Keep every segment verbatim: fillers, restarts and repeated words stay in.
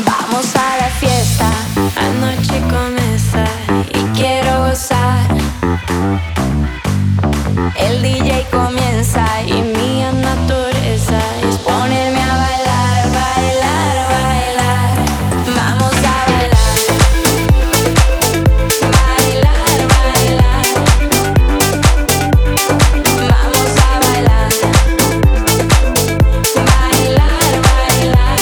Vamos a la fiesta, la noche comienza y quiero gozar. El D J comienza y mi naturaleza es ponerme a bailar, bailar, bailar. Vamos a bailar, bailar, bailar. Vamos a bailar, bailar, bailar.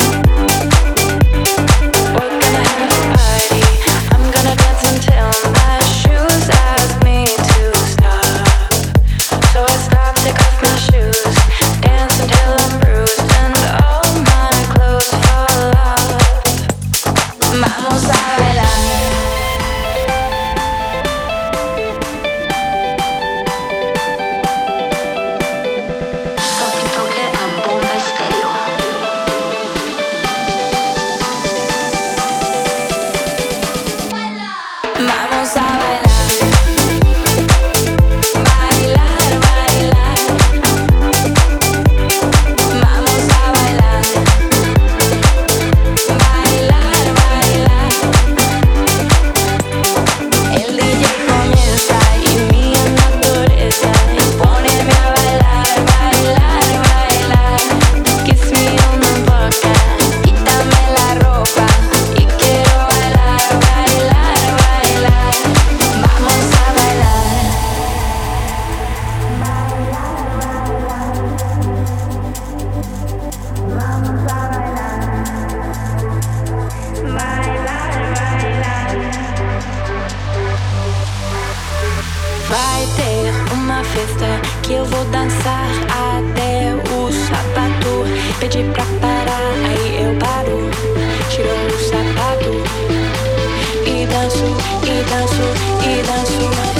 We're gonna have a party. I'm gonna dance until my shoes ask me to stop. So I stop, take off my shoes, dance until I'm bruised and all my clothes fall off. Vamos a bailar. Toque, toque a bomba estéreo. Vamos a bailar, bailar, bailar. Vamos a bailar, bailar, bailar. El D J comienza y mi naturaleza es ponerme a bailar, bailar, bailar. Kiss me on the boca, quítame la ropa y quiero bailar, bailar, bailar. Vamos a bailar. Vai ter uma festa que eu vou dançar até o sapato pedir pra parar, aí eu paro, tiro o sapato e danço, e danço, e danço.